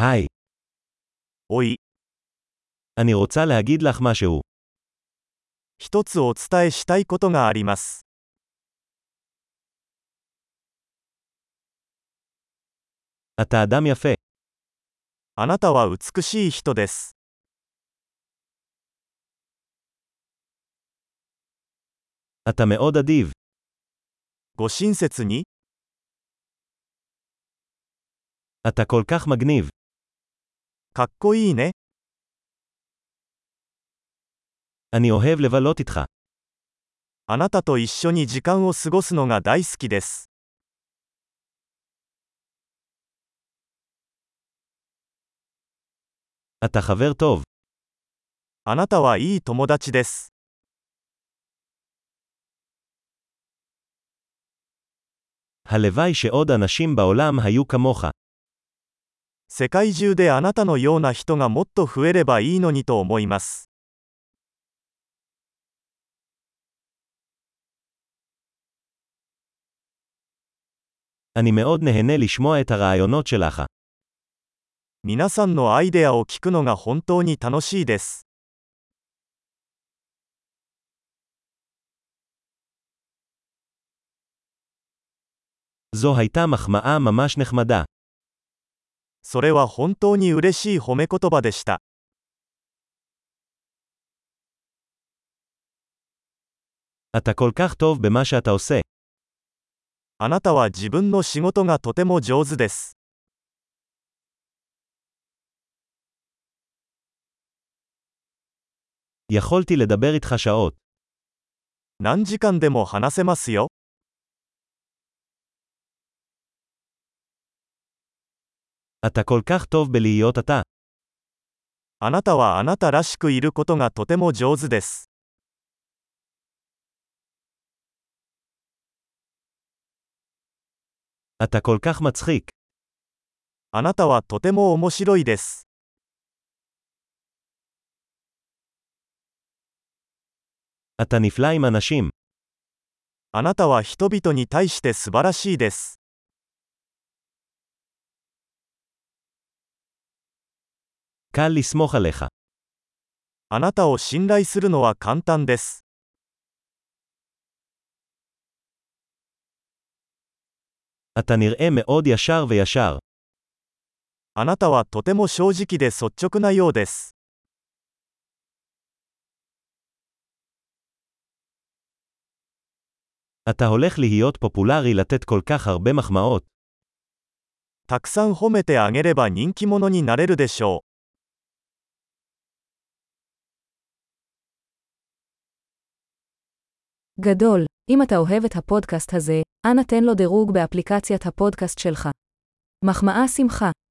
היי, おい、 אני רוצה להגיד לך משהו. 一つお伝えしたいことがあります。 אתה אדם יפה. あなたは美しい人です。 אתה מאוד אדיב. ご親切に、 אתה כל כך מגניב. かっこいいね。 אני אוהב לבלות איתך. あなたと一緒に時間を過ごすのが大好きです。 אתה חבר טוב. あなたはいい友達です。 הלוואי שעוד אנשים בעולם היו כמוך. 世界中であなたのような人がもっと増えればいいのにと思います。 אני מאוד נהנה לשמוע את הרעיונות שלך. 皆さんのアイデアを聞くのが本当に楽しいです。 זו הייתה מחמאה ממש נחמדה. それは本当に嬉しい褒め言葉でした。 אתה כל כך טוב במה שאתה עושה. あなたは自分の仕事がとても上手です。 יכולתי לדבר איתך שעות. 何時間でも話せますよ。 אתה כל כך טוב בלהיות אתה. あなたはあなたらしくいることがとても上手です。 אתה כל כך מצחיק. あなたはとても面白いです。 אתה נפלא עם אנשים. あなたは人々に対して素晴らしいです。 קל לסמוך עליך. あなたを信頼するのは簡単です。 אתה נראה מאוד ישר וישר. あなたはとても正直で率直なようです。 אתה הולך להיות פופולרי לתת כל כך הרבה מחמאות. たくさん褒めてあげれば人気者になれるでしょう。 גדול, אם אתה אוהב את הפודקאסט הזה, אנא תן לו דירוג באפליקציית הפודקאסט שלך. מחמאה שמחה.